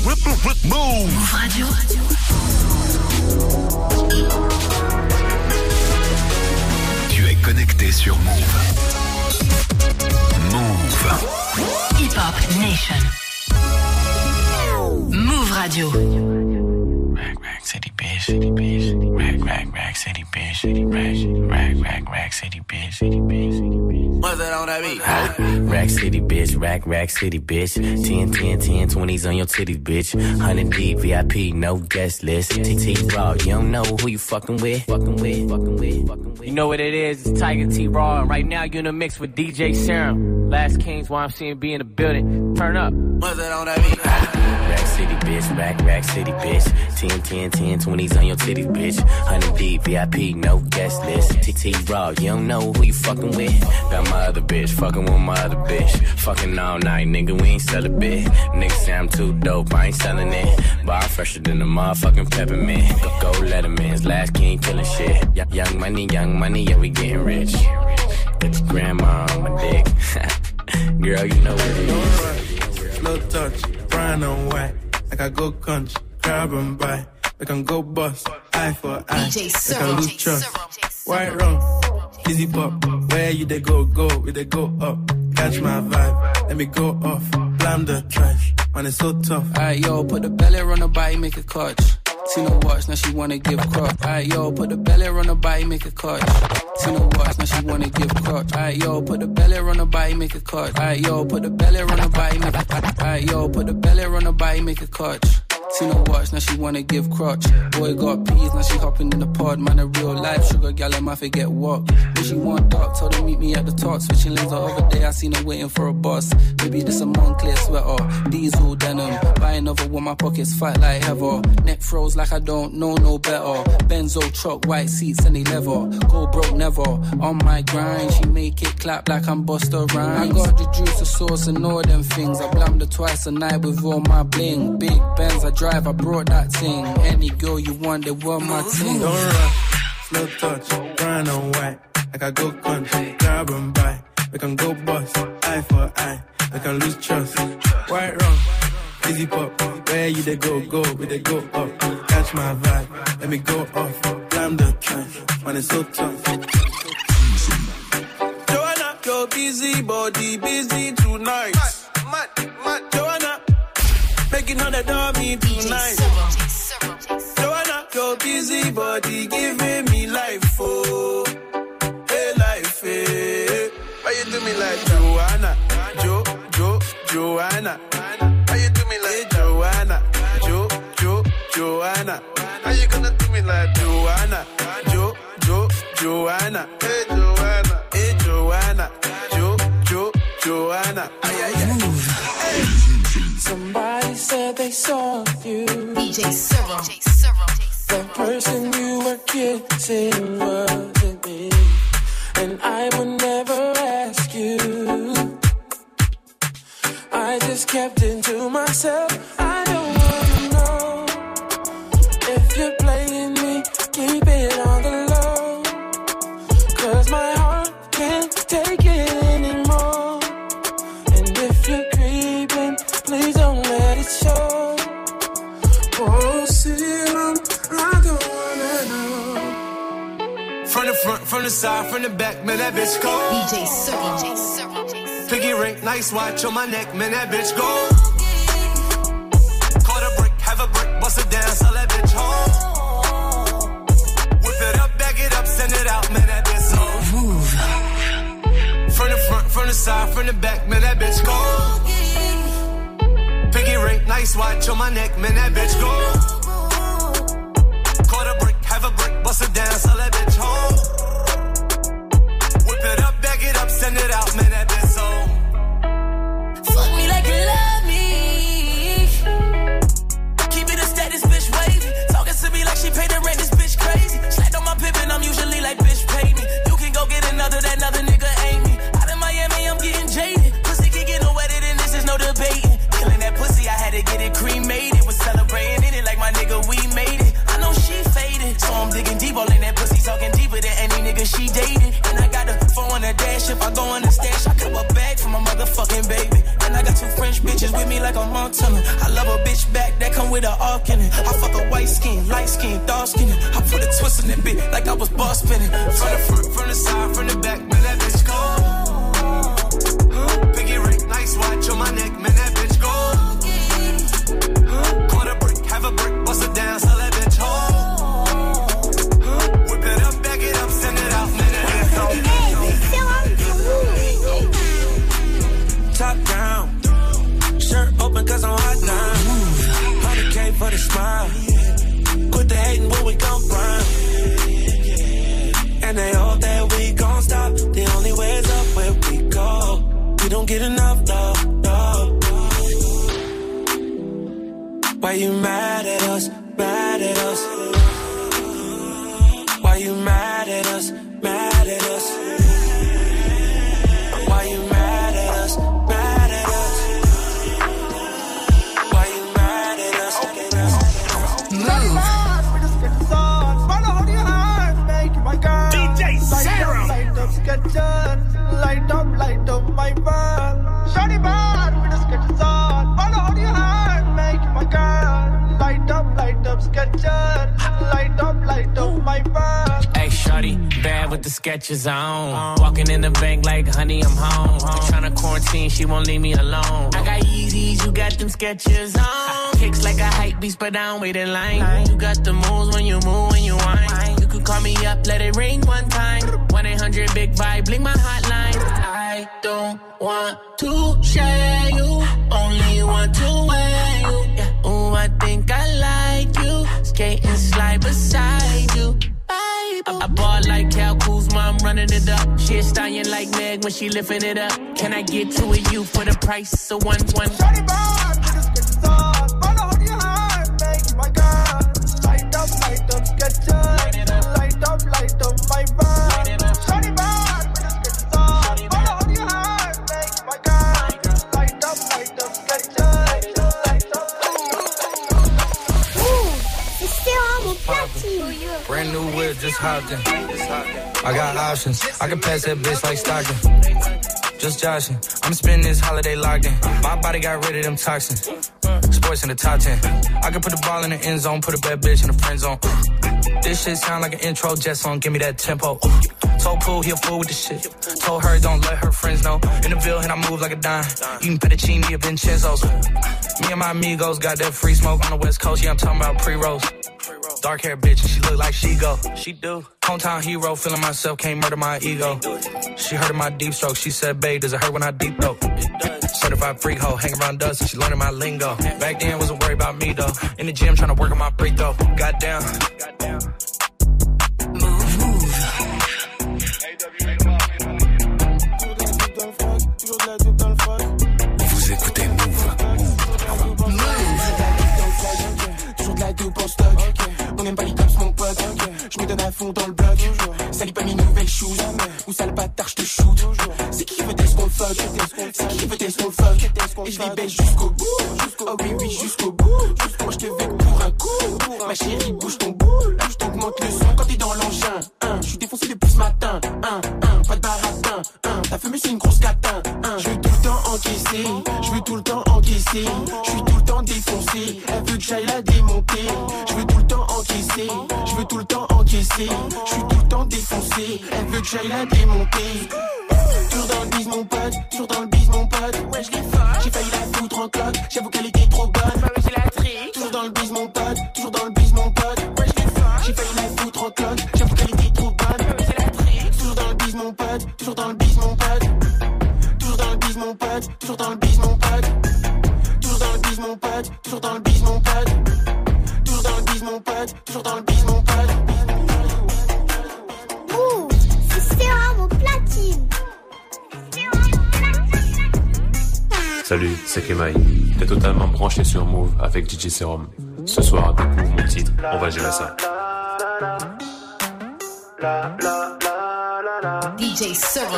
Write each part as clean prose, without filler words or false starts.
Move Radio. Tu es connecté sur Move. Move. Hip Hop Nation. Move Radio. Rack city bitch, city bitch, rack city bitch, city rack city bitch, city bitch. What's that on that beat? Rack city bitch, rack city bitch. 10, 20s on your titties, bitch. 100 deep, VIP, no guest list. T Raw, you don't know who you fucking with. You know what it is? It's Tiger T Raw, and right now you're in a mix with DJ Serum. Last Kings, YMCMB in the building. Turn up. What's that on that beat? Rack city bitch, rack city bitch. 10, 20s on your titties, bitch. 100 deep, VIP, no guest list. T Raw, you don't know who you fucking with. Got my other bitch, fucking with my other bitch. Fucking all night, nigga, we ain't sell a bit. Niggas say I'm too dope, I ain't selling it. But I'm fresher than the motherfucking peppermint. Go Letterman's, Last King killing shit. Young money, yeah, we getting rich. Get your grandma on my dick. Girl, you know what it is. Slow touch, brown and white. Like I go country, grab and buy. We can go bust, eye for eye. We can lose trust. White rum, easy pop. Where you they go, we they go up. Catch my vibe, let me go off. Blam the trash, man it's so tough. Alright yo, put the belly on the body, make a clutch. See no watch, now she wanna give crutch. Alright yo, put the belly on the body, make a clutch. See no watch, now she wanna give crutch. Alright yo, put the belly on the body, make a clutch. Alright yo, put the belly on the body, make a clutch. Alright yo, put the belly on the body, make a clutch. See no watch, now she wanna give crutch. Boy got peas, now she hopping in the pod. Man, a real life sugar gal, I forget what. When she want dark, told her meet me at the top. Switching lanes the other day, I seen her waiting for a bus. Maybe this a Moncler sweater, diesel denim. Buy another one, my pockets fight like heather. Neck froze like I don't know no better. Benzo truck, white seats and they leather. Go broke never, on my grind. She make it clap like I'm Busta Rhymes. I got the juice, the sauce and all them things. I blammed her twice a night with all my bling. Big Benz, I drive, I brought that thing. Any girl you want, they want my thing. Don't rush, slow touch, brown and white. Like I go country, grab and buy. We can go bust, eye for eye. We can lose trust. White rum, easy pop. Where you they go, we they go up. Catch my vibe, let me go off. Blam the trash, man it's so tough. Joanna, your busy body, busy tonight. Joanna, making all the dummy tonight. Joanna, your busy body giving me life, oh. Hey, life, hey. Why you do me like Joanna? Joanna. Why you do me like Joanna? Joanna. How you gonna do me like Joanna? Joanna. Hey, Joanna. Hey, Joanna. Joanna. Somebody said they saw you. DJ Serum. The person you were kissing wasn't me. And I would never ask you. I just kept it to myself. I don't wanna know if you're playing me. Keep it on the low. 'Cause my heart can't take it anymore. And if you're creeping, please don't let it show. Oh, Serum, I don't wanna know. From the front, from the side, from the back, man, that bitch go. DJ Serum. Piggy ring, nice watch on my neck, man, that bitch go. Caught a brick, have a brick, bust it down, sell that bitch home. Whip it up, bag it up, send it out, man, that bitch home. Move. From the front, from the side, from the back, man, that bitch go. Piggy ring, nice watch on my neck, man, that bitch go. Caught a brick, have a brick, bust it down, sell that bitch home. Whip it up, bag it up, send it out, man, that bitch home. Fuck me like you love me. Keep it a status, bitch wavy. Talking to me like she paid the rent, this bitch crazy. Slapped on my pippin', I'm usually like, bitch pay me. You can go get another, that another nigga ain't me. Out in Miami, I'm getting jaded. Pussy can get no wetter than this, is no debating. Killing that pussy, I had to get it cremated. Was celebrating in it like my nigga, we made it. I know she faded, so I'm digging deep, all in that pussy, talking deeper than with an arc in it. I fuck a white skin, light skin, dark skin. I put a twist in that bit like I was boss spinning. From the front, from the side, from the back, man, that bitch go. Piggy ring, nice watch on my neck, man, that bitch go. Quarter brick, have a brick, bust it down, sell that bitch home. Whip it up, back it up, send it out, man, that bitch go. Top down, shirt open cause I'm hot now. 100K for the smile. Quit the hating when we gon' grind. And they hope that we gon' stop. The only way is up where we go. We don't get enough, no. Why you mad at us, mad at us? Why you mad at us, mad at us? Why you mad at us, mad at us? Why you mad at us? Move. DJ Serum. Light up my world. Shawty bad with the sketches on. Follow how you hand, make my girl. Light up sketches. Light up my world. Hey, shorty, bad with the sketches on. Walking in the bank like, honey, I'm home. I'm tryna quarantine, she won't leave me alone. I got Yeezys, you got them sketches on. Kicks like a hype beast, but I don't wait in line. You got the moves when you move, when you whine. You can call me up, let it ring one time. 1-800-BIG-VIBE, blink my hotline. I don't want to share you, only want to wear you. Yeah. Ooh, I think I like you. Skate and slide beside you. I ball like Cal Kuzma, I'm running it up. She a stallion like Meg when she lifting it up. Can I get to a you for the price of one? Shawty bad with the sketches on. Follow how you hand, make my girl. Light up sketches. Light up my world. Shawty bad with the sketches on. Follow how you hand, make my girl. Light up sketches. C'est Serum platine. Brand new whip, just hopped in. I got options, I can pass that bitch like Stockton. Just joshing, I'm spending this holiday locked in. My body got rid of them toxins. Sports in the top 10. I can put the ball in the end zone, put a bad bitch in the friend zone. This shit sound like an intro jet song, give me that tempo. Told Pooh he a fool with the shit. Told her don't let her friends know. In the Ville and I move like a dime. Eating fettuccine at Vincenzo's. Me and my amigos got that free smoke on the West Coast. Yeah, I'm talking about pre-rolls. Dark hair bitch and she look like she go. She do. Hometown hero, feeling myself, can't murder my ego. She heard of my deep stroke. She said, babe, does it hurt when I deep throat? Certified freak hoe, hang around us and she learning my lingo. Back then wasn't worried about me though. In the gym trying to work on my free throw. Goddamn. Vous écoutez Move. Toujours de la dope en stock. On aime pas les cops, mon pote. Je me donne à fond dans le bloc. Salis pas mes nouvelles shoes. Ou sale bâtard, je te shoot. C'est qui veut tester qu'on le fuck? C'est qui veut tester qu'on le fuck? Et je les baisse jusqu'au bout. Oh oui, jusqu'au bout. Moi je te veux que pour un coup. Ma chérie, bouge ton boule. Je t'augmente le son quand t'es dans l'engin. Je suis défoncé depuis ce matin. Pas de baratin. Ta fumée c'est une grosse catin. Je veux tout le temps encaisser. Je veux tout le temps encaisser. Je suis tout le temps défoncé. Elle veut que j'aille la démonter. Je veux tout le temps encaisser. Je veux tout le temps encaisser. Je suis tout le temps défoncé. Elle veut que j'aille la démonter. Toujours dans le bise mon pote. Toujours dans le bise mon pote. Ouais je l'ai fait. J'ai failli la foutre en cloque. J'avoue qu'elle était trop bonne. J'ai la tri. Toujours dans le bise mon pote. Toujours dans le bise mon pote. Ouais je l'ai fait. J'ai failli la foutre en cloque. J'avoue qu'elle était trop bonne. J'ai la tri. Toujours dans le bise mon pote. Toujours dans le bise mon pote. Toujours dans le bise mon pote. Toujours dans le bise mon pote. Toujours dans le bise mon pote. Toujours dans le bise mon pote. Toujours dans le bise mon pote. Toujours dans le bise mon pote. Ouh, c'est Serum platine. Salut, c'est Kemai. T'es totalement branché sur Move avec DJ Serum. Ce soir, avec Move, mon titre, on va gérer ça. DJ Serum.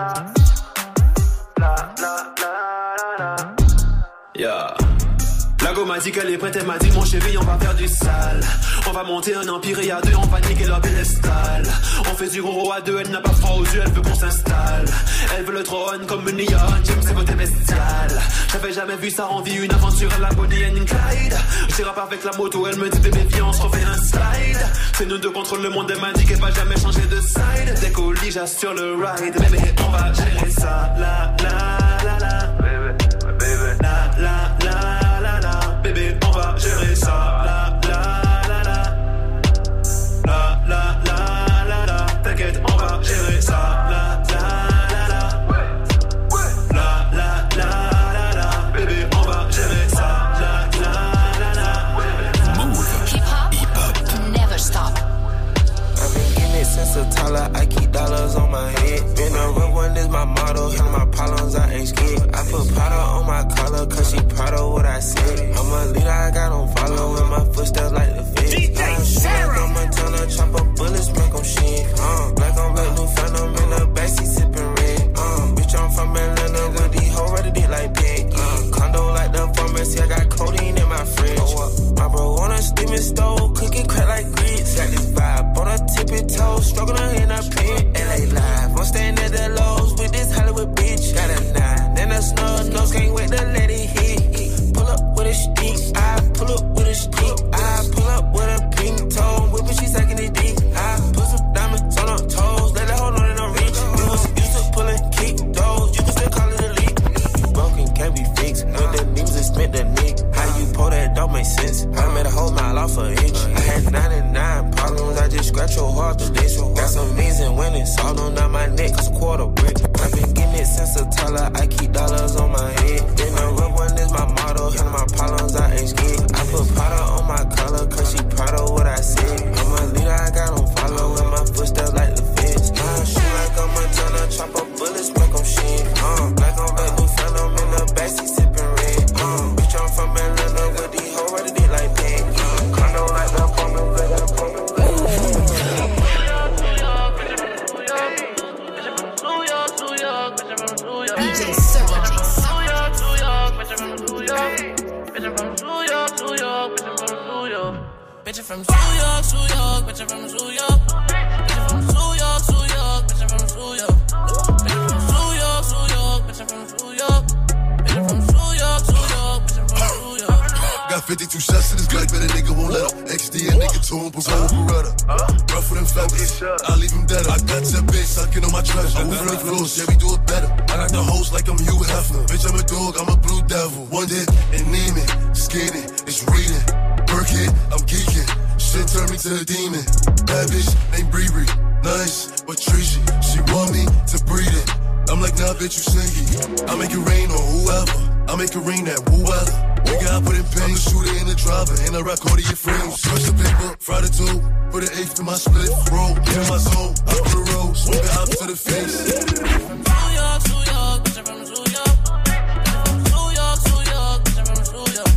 Yeah. La go m'a dit qu'elle est prête, elle m'a dit mon chéri, on va faire du sale. On va monter un empire et à deux, on va niquer leur pédestal. On fait du gros à deux, elle n'a pas froid aux yeux, elle veut qu'on s'installe. Elle veut le trône comme une lionne, James c'est côté bestial. J'avais jamais vu ça en vie, une aventure à la Bonnie and Clyde. J'rappe avec la moto, elle me dit bébé viens on se refait un slide. C'est nous deux contre le monde, elle m'a dit qu'elle va jamais changer de side. Dès qu'au lit j'assure le ride, bébé on va gérer ça. La la la la, bébé, bébé. La la la la la, bébé on va gérer ça. La la la la, la la la la la, t'inquiète on va gérer ça. La la la la, la la la la, bébé on va gérer ça. La la la la. Move. Hip hop. Never stop. I've been getting it since a toddler. I keep dollars on my head. Been a real one is my motto. Handle my problems, I ain't scared. I put powder on my collar, cause she proud of what I said. I'm a leader, I got on follow in my footsteps like the Fed. DJ Sarah. I'm a turner, chop up bullets, make them shit. Black on black, new phantom in the backseat sipping red. Bitch, I'm from Atlanta with these hoes ready to like pig. Condo like the pharmacy, I got codeine in my fridge. My bro on a steaming stove, cooking crack like grits. Got this vibe on a tippy toe, struggling in a pit. LA live, I'm staying at the lows with this Hollywood bitch. Got a 9 and a snub nose, can't wait to let it hit. Pull up with a stick, I pull up with a stick. I pull up with a pink toe, whipping, she sucking it deep. I put some diamonds on her toes, let her hold on and I'm rich. We was used to pulling kick those, you can still call it a leak. Broken can't be fixed, when the knees is spent the nick. How you pull that don't make sense, I made a whole mile off an inch. I had 99 problems, I just scratch your heart to this. Got some means and winnings, all on down my neck, it's quarter brick. I've been getting it since a toddler, I keep dollars on my head. Been a real one is my motto, handle my problems, I ain't scared. I put powder on my collar, cause she proud of what I said. I'm a leader, I got on follow in my footsteps like the Feds. Shoot like I'm a turner, chop up bullets, make them shit. Black on black, new phantom in the backseat sipping red. Bitch, I'm from Atlanta with these hoes ready to like pig. Condo like the apartment, with the apartment. DJ Sarah. Bitch from New York, New York, bitch from New York. Bitch from New York, New York, bitch from New York. Bitch from New York, New York, bitch from New York. Bitch from New York, New York, bitch from New York. Got 52 shots in this Glock, but a nigga won't let up. XD a nigga to him, Pavone Beretta. Rough with them fellas, I leave him dead. I got that bitch sucking on my treasure. I'm moving the floors, yeah, we do it better. I got the host like I'm Hugh Hefner. Bitch, I'm a dog, I'm a blue devil. One dick, anemic, skinny, it's reading. Burkhead, I'm geeking. Shit turned me to a demon. Bad bitch named Bree. Nice, but treachy. She want me to breed it. I'm like, nah, bitch, you sneaky. I make it rain on whoever. I make it rain at whoever. Nigga, I put in pain. I'm the shooter in the driver. And I rock all of your frames. Switch the paper, fry the two. Put an eighth in my split. Roll, get in my zone. Up to the road. Swing it up to the face. From New York, New York, bitch from New York. From New York, New York, bitch from New York.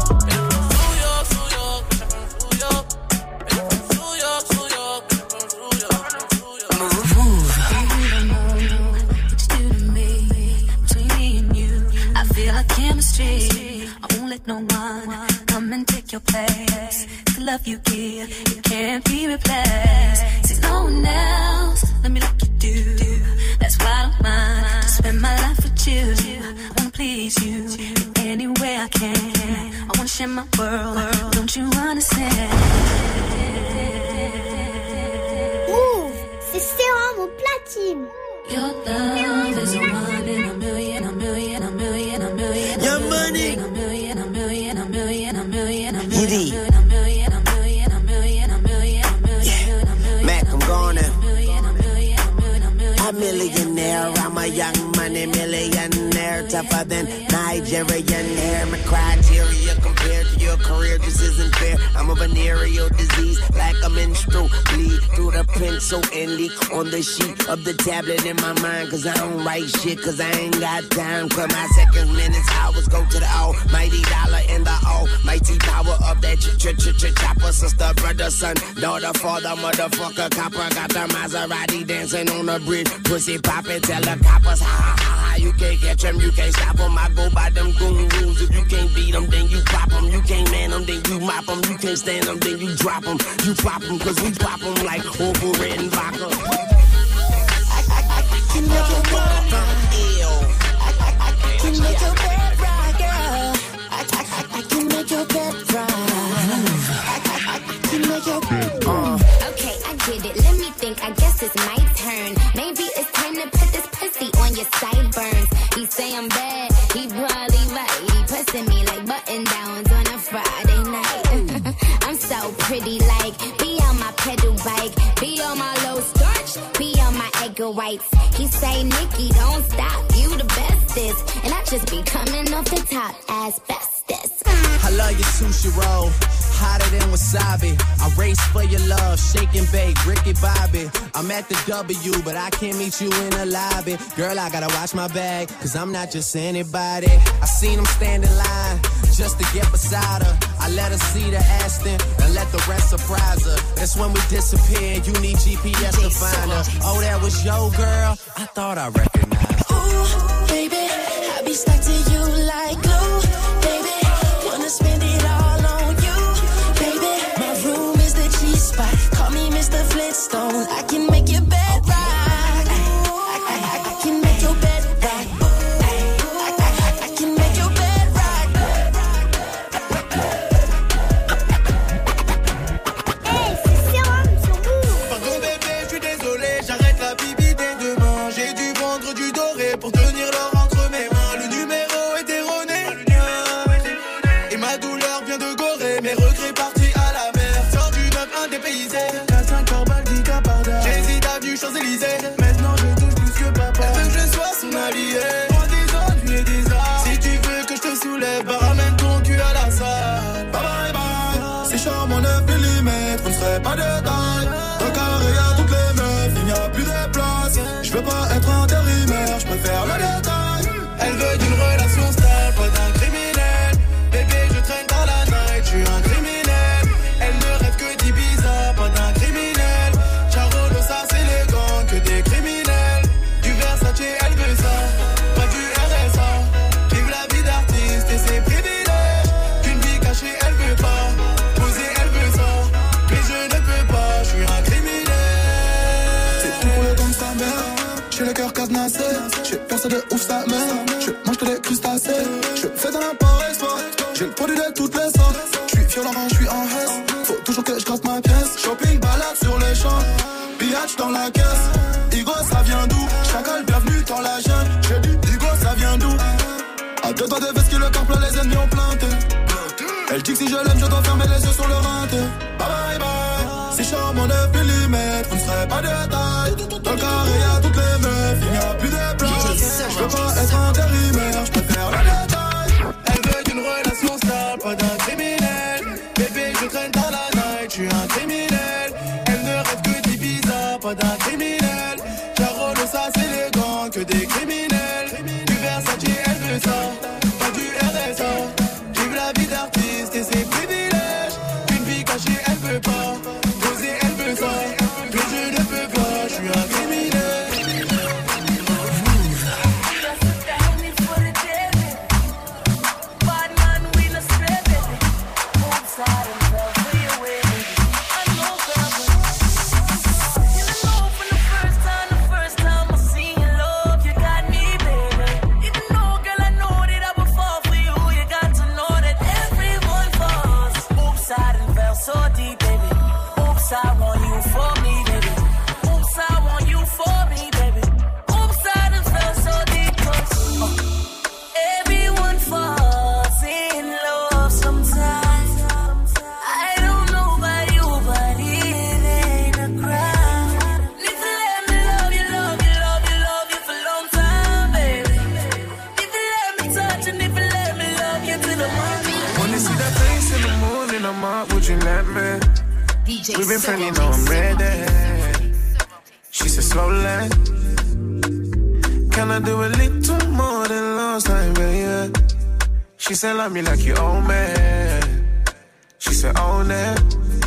Chemistry, I won't let no one come and take your place. The love you give, it can't be replaced. See no one else, let me like you do. That's why I don't mind to spend my life with you. I wanna please you in any way I can. I wanna share my world, don't you understand? Move, c'est Sarah mon platine. Your love is a one in a million, a million, a million, a million. Your money. A million, a million, a million, a million, a million, a million, a million, a million, a million, a million, a million, a million. Mac, I'm going in. A millionaire, I'm a young money millionaire, tougher than Nigerian hair. My criteria compared to your career just isn't fair. I'm a venereal disease, like a menstrual bleed through the pencil and leak on the sheet of the tablet in my mind. Cause I don't write shit, cause I ain't got time. Cause my seconds, minutes, hours go to the almighty dollar and the almighty G power up that chopper, sister, brother, son, daughter, father, motherfucker, copper. Got the Maserati dancing on the bridge, pussy poppin', tell the coppers, ha ha ha ha. You can't catch them, you can't stop them. I go by them goon rules. If you can't beat them, then you pop them. You can't man them, then you mop them. You can't stand them, then you drop them. You pop them, cause we pop them like Orville Red and vodka. I can make your bed I can make your bed right, girl. I can make your bed right. I can make your bed Okay, I get it. Let me think. I guess it's my turn. Maybe it's time to put this pussy on your sideburns. He say I'm bad. He probably right. He pussing me like button downs on a Friday night. I'm so pretty, like be on my pedal bike, be on my low starch, be on my egg whites. He say, Nikki, don't stop. You the bestest, and I just be coming off the top as bestest. I love your sushi roll, hotter than wasabi. I race for your love, shake and bake, Ricky Bobby. I'm at the W, but I can't meet you in the lobby. Girl, I gotta watch my bag, cause I'm not just anybody. I seen him stand in line, just to get beside her. I let her see the Aston, and let the rest surprise her. That's when we disappeared, you need GPS to find her. Oh, that was your girl? I thought I recognized her. Ooh, baby, I be stuck to you like glue. Baby, wanna spend it all on you. Baby, my room is the G-spot. Call me Mr. Flintstone. I can make your bed rock. I can make your bed rock. I can make your bed rock. Hey, c'est Sérum sur Move. Pardon bébé, je suis désolé, j'arrête la bibi dès demain. J'ai dû vendre du doré pour tenir l'or entre mes mains. Le numéro est erroné, et ma douleur vient de Gorée. Mes regrets partis à la mer, sors du 9-1 dépaysé. 4-5 heures baldi Caparda, j'hésite avenue Champs-Élysées. Maintenant je touche plus que papa, elle veut que je sois son allié. Moi des ennuis et des arts, si tu veux que je te soulève, bah ramène ton cul à la salle. Bye bye bye, c'est charmant 9 mm, vous ne serez pas de taille. Dans carré y'a toutes les meufs, il n'y a plus de place. Je veux pas être intérimaire, je préfère le détail. Elle veut d'une relation stable, pas d'un criminel. Bébé je traîne dans la night, je suis un criminel. Elle ne rêve que d'Ibiza, pas d'un criminel. Charolo ça c'est les gangs, que des criminels. Du Versace elle veut ça, pas du RSA. Vive la vie d'artiste et ses privilèges. Qu'une vie cachée elle veut pas, poser elle veut ça. Mais je ne peux pas, je suis un criminel. C'est tout pour le temps de sa mère, j'ai le cœur cadenassé. J'ai personne de ouf sa mère, je mange que des crustacés. Je fais dans l'import-export, j'ai le produit de toutes les sortes. Je suis violent, je suis en hesse, faut toujours que je gratte ma pièce. Shopping, balade sur les champs, pillage dans la caisse. Igo ça vient d'où? Chacal, bienvenue dans la jungle. J'ai dit Igo ça vient d'où? À deux doigts de veste qui le camp plein, les ennemis ont planté. Elle dit que si je l'aime, je dois fermer les yeux sur le rinté. Bye bye bye, c'est charmant 9 mm, vous ne serez pas de taille. Dans le carré y'a toutes les meufs, il n'y a plus de place. Je veux pas être intérimaire, je préfère le détail. Elle veut d'une relation stable, pas d'un criminel. Bébé je traîne dans la night, je suis un criminel. Elle ne rêve que d'Ibiza, pas d'un criminel. Charolo ça c'est les gangs, que des criminels. Du Versace elle veut ça, pas du RSA. Vive la vie d'artiste et ses privilèges. Une vie cachée elle veut pas, poser elle veut ça. Mais je ne peux pas, je suis un criminel. We've been friendly, you know I'm ready. She said slowly, can I do a little more than last time, baby? She said love me like you owe me. said, own it.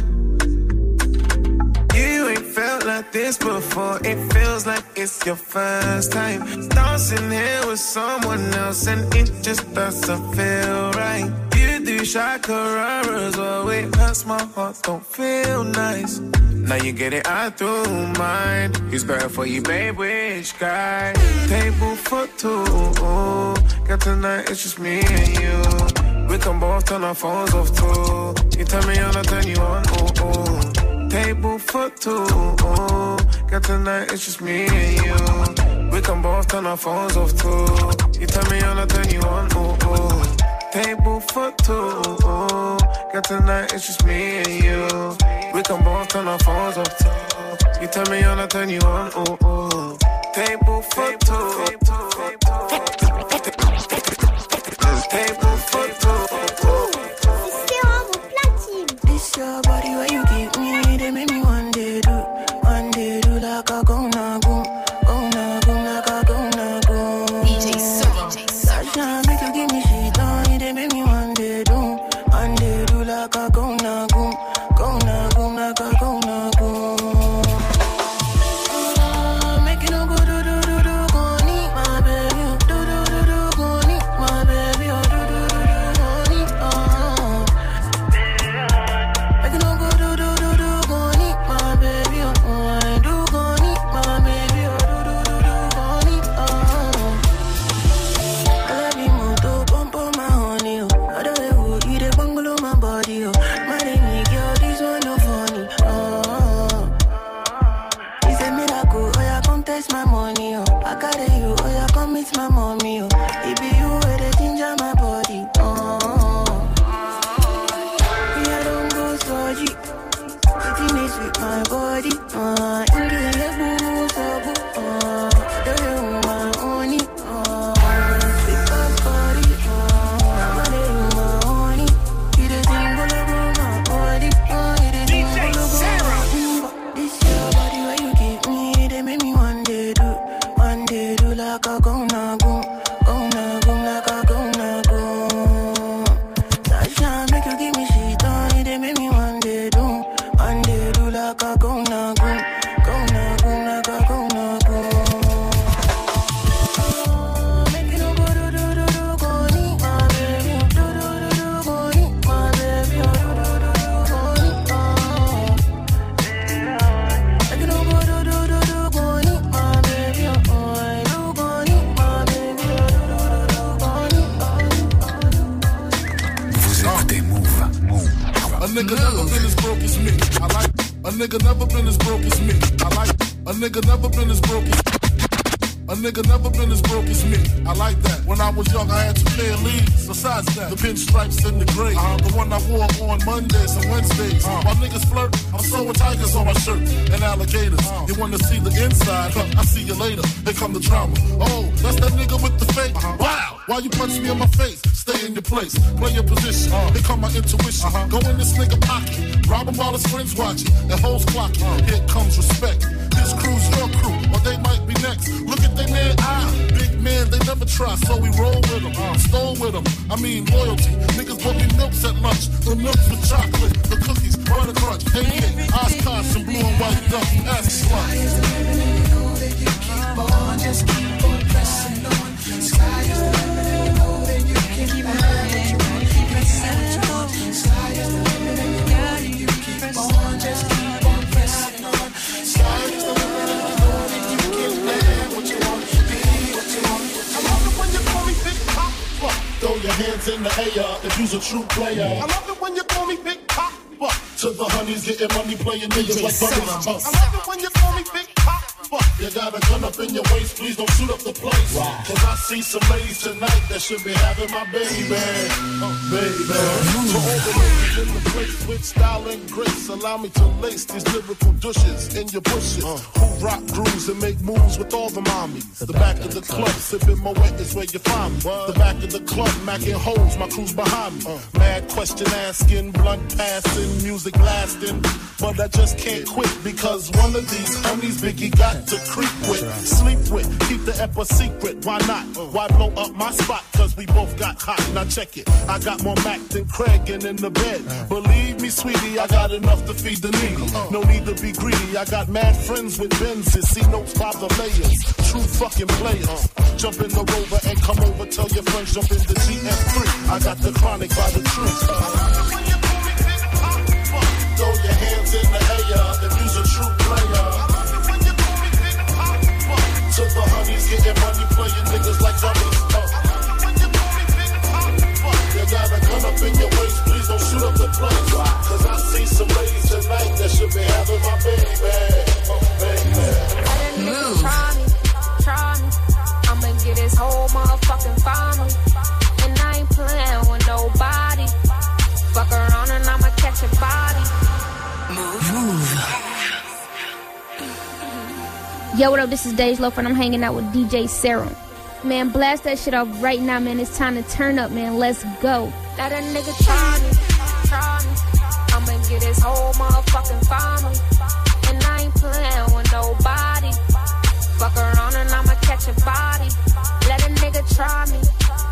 You ain't felt like this before. It feels like it's your first time dancing here with someone else, and it just doesn't feel right. You do shakararas, oh it hurts my heart, don't feel nice. Now you get it out through mine. Who's better for you, babe? Which guy? Table for two. Got tonight, it's just me and you. We can both turn our phones off too. You turn me on, I turn you on. Table for two. Got tonight, it's just me and you. We can both turn our phones off too. You turn me on, I turn you on. Table for two. Got tonight, it's just me and you. We can both turn our phones off too. You turn me on, I turn you on. Table for two. Table for two. This your body where you give me, they make me one day do like a gonna go, like a gonna go. DJ Serum. Sasha make you give me shit on, they make me one day do like a gonna go, like a gonna go. Make you no go do, go need my baby, go need my baby, go need, Make you no go do, go need my baby, I do go need my baby, go need, I love you more to pump on my honey, I don't know you the bungalow my body, my name girl, this one no funny, It's a miracle, oh yeah, come test my money, I carry you, oh yeah, come meet my mommy, It be you where they ginger my body, I don't go so deep. Sitting is with my body, in the boo, so boo, don't you my honey, big ass body, I'm a little my honey, you the thing all over my body, you the thing all over my. This your body where you give me, they make me one day do like a gonna go, like a gonna go. Sasha make you give me shit on, they make me one day do like a gonna go, like a gonna go. Make you no go do, go need my baby, go need my baby, go need, Make you no go do, go need my baby, I do go need my baby, go need. Vous écoutez Move. A nigga never been as broke as me. I like. A nigga never been as broke as me. I like. A nigga never been as broke as. A nigga never been as broke as me. I like that. When I was young, I had 2 pair of leads. Besides that, the pinstripes in the gray. The one I wore on Mondays and Wednesdays. While niggas flirt, I'm sewing tigers on my shirt and alligators. You wanna see the inside? I see you later. Here come the drama. Oh, that's that nigga with the fake. Wow. Why you punch me in my face? Stay in your place. Play your position. Here come my intuition. Go in this nigga pocket. Rob him while his friends watching. And hoes clocking. Here comes respect. This crew's your crew, or they might be next. Look at they man, big man, they never try, so we roll with them, stole with them. I mean loyalty. Niggas bought me milks at lunch, the milks with chocolate, the cookies, butter crunch, AK, Oshkosh, and blue and white duck. Ask slut. Keep on, just keep on pressing on. Sky is the limit, and you know that you can keep on pressing on. Sky is the limit, and you know that you keep on, just keep on pressing on. Sky is the limit, and you know that you can have what you want, be what you want. I love it when you call me Big Papa. Throw your hands in the air if you's a true player. I love it when you call me Big Papa. To the honeys getting money, playing niggas like buggers. I love it when you call me Big Papa. You got a gun up in your waist, please don't shoot up the place. Cause I see some ladies tonight that should be having my baby. Baby. To all the ladies in the place with style and grace, allow me to lace these lyrical douches in your bushes. Who rock grooves and make moves with all the mommies. The back of the club, sipping my wet is where you find me. The back of the club, macking holes, my crew's behind me. Mad question asking, blunt passing, music lasting. But I just can't quit because one of these homies Biggie got to creep with, sleep with, keep the ep a secret. Why not? Why blow up my spot? Cause we both got hot. Now check it. I got more Mac than Craig and in the bed. Believe me, sweetie, I got enough to feed the needy. No need to be greedy. I got mad friends with Benzes. See notes by the layers. True fucking players. Jump in the Rover and come over. Tell your friends jump in the GM3. I got the chronic by the tree. Throw your hands in the air if you's a true player. To the honeys, getting money, playing niggas like dummies. You gotta come up in your waist, please don't shoot up the place. Cause I see some ladies tonight that should be having my baby. Move. Try me. I'ma get his whole motherfucking family. And I ain't playing with nobody. Fuck around and I'ma catch a body. Move. Yo, what up? This is Dej Loaf and I'm hanging out with DJ Serum. Man, blast that shit off right now, man. It's time to turn up, man. Let's go. Let a nigga try me. I'ma get his whole motherfucking family. And I ain't playing with nobody. Fuck around and I'ma catch a body. Let a nigga try me.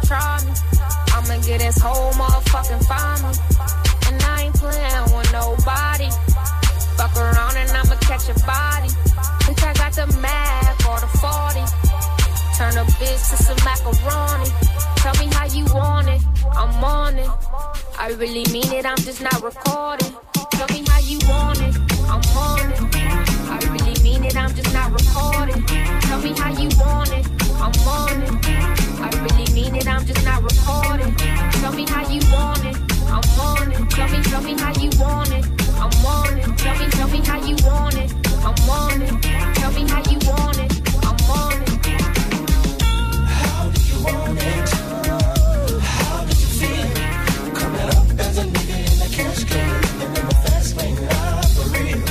I'ma get his whole motherfucking family. And I ain't playing with nobody. Fuck around and I'ma catch a body. Bitch, I got the Mac or the 40. Turn a bitch to some macaroni. Tell me how you want it, I'm on it. I really mean it, I'm just not recording. Tell me how you want it, I'm on it. I really mean it, I'm just not recording. Tell me how you want it, I'm on it. I really mean it, I'm just not recording. Tell me how you want it, I'm on it. Tell me how you want it, I'm on it. Tell me how you want it, I'm on it. Tell me how you want it, I'm on it. How do you want it? How did you feel? Coming up as a nigga in the cash can, living in the fast lane, for real.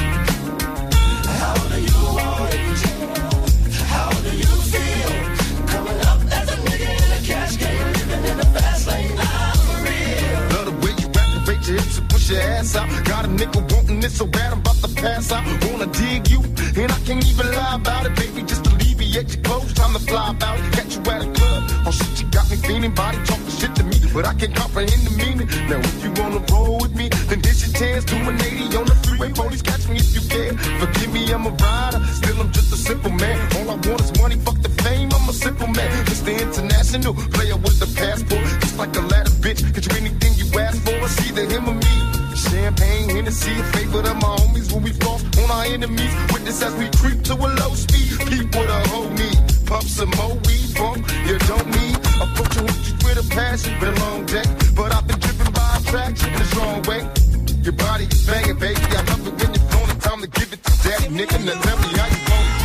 How do you want it? How do you feel? Coming up as a nigga in the cash can, living in the fast lane, for real. Love the way you activate your hips and push your ass out. Got a nigga wanting it so bad I'm about to pass out. Wanna dig you, and I can't even lie about it, baby. Just alleviate your clothes, time to fly about it. Catch you at a club, oh shit, you got me feeling. Body talking shit to me, but I can't comprehend the meaning. Now if you wanna roll with me, then this your chance. Do an 80 on the freeway, police catch me if you can. Forgive me, I'm a rider, still I'm just a simple man. All I want is money, fuck the fame, I'm a simple man. Mr. International, player with the passport. Just like a ladder, bitch, get you anything you ask for. It's either him or me. Champagne, Hennessy, a favorite of my homies when we floss on our enemies. Witness as we creep to a low speed. Peep with a whole need. Pump some more weed, bump, you don't need. Approaching with you with a passion, been a long day. But I've been driven by attraction in a strong way. Your body is banging, baby. I love it when you're flown. It's time to give it to daddy, nigga. Now tell me how you want it.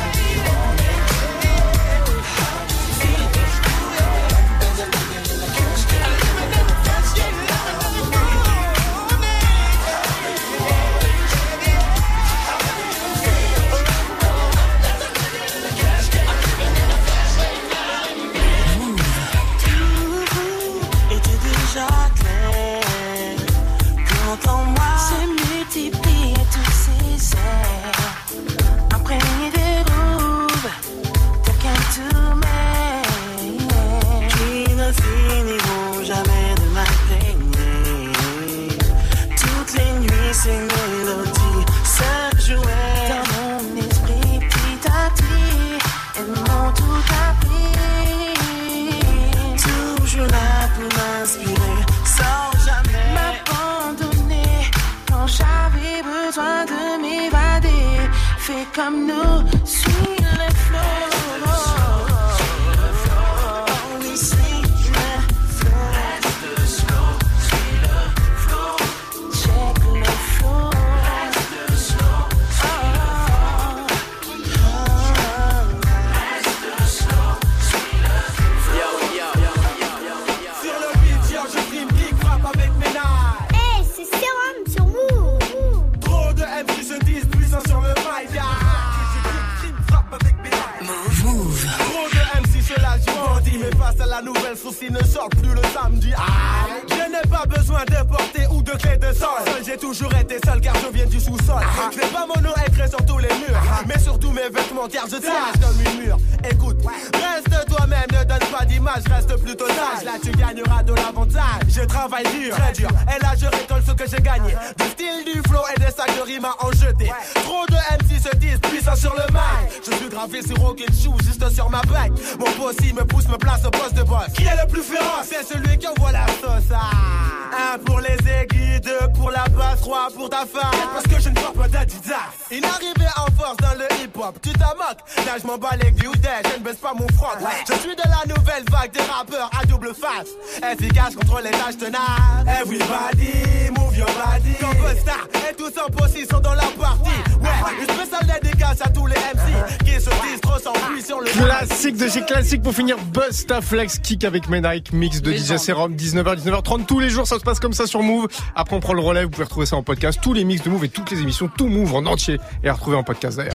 En moi se multiplient tous ces airs, imprégnés de groove, tel qu'un tourment, qui ne finiront jamais de m'imprégner. Toutes les nuits, ces mélodies se jouaient dans mon esprit petit à petit, elles m'ont tout appris. Toujours là pour m'inspirer, sans jamais m'abandonner. Quand j'avais besoin de m'évader, fais comme nous, suis le flow. Only see the flow. Reste le slow, suis le flow. Check le flow. Reste le slow, suis le flow. Reste le slow, suis le flow. Sur le beat, yo, je rime, big rap avec mes nailles. Hey, c'est Serum sur Move. Trop de MC se disent puissants sur le mic, yeah. Frappe avec mes nailles. Move. Trop de MC se lâchent du bandit, mais face à la nouvelle souci ne sort plus le samedi. Je n'ai pas besoin de porter ou de clé de sol. Seul J'ai toujours été seul car je viens du sous-sol. Je fais pas mon nom écrit sur tous les murs, mais surtout mes vêtements car je tiens comme une mur. Écoute, reste toi-même, ne donne pas d'image, reste plutôt sage. Là tu gagneras de l'avantage. Je travaille dur, très dur, et là je récolte ce que j'ai gagné. Du style, du flow et des sacs de rimes à en jeter. Trop de MC se disent puissants sur le mic. Je suis gravé sur aucune shoe, juste sur ma bague. Mon bossy me pousse, me place au poste de boss. Qui est le plus féroce? C'est celui qui envoie la sauce. Un pour les aiguilles, deux pour la basse, trois pour ta femme. Parce que je ne porte pas d'Adidas. Une arrivée en force dans le hip-hop, tu t'en moques. Là je m'en bats les couilles, je ne baisse pas mon front. Je suis de la nouvelle vague des rappeurs à double face. Efficace contre les tâches tenaces. Everybody, move your body. Comme Busta et tous en possession sont dans la partie. Ouais, une spéciale dédicace à tous les MC qui se disent trop sans pluie sur le classique de chez classique pour finir. Busta Flex Kick avec Menike, mix de DJ Serum, 19h-19h30 tous les jours, ça se passe comme ça sur Move. Après on prend le relais, vous pouvez retrouver ça en podcast, tous les mix de Move et toutes les émissions, tout Move en entier et à retrouver en podcast d'ailleurs.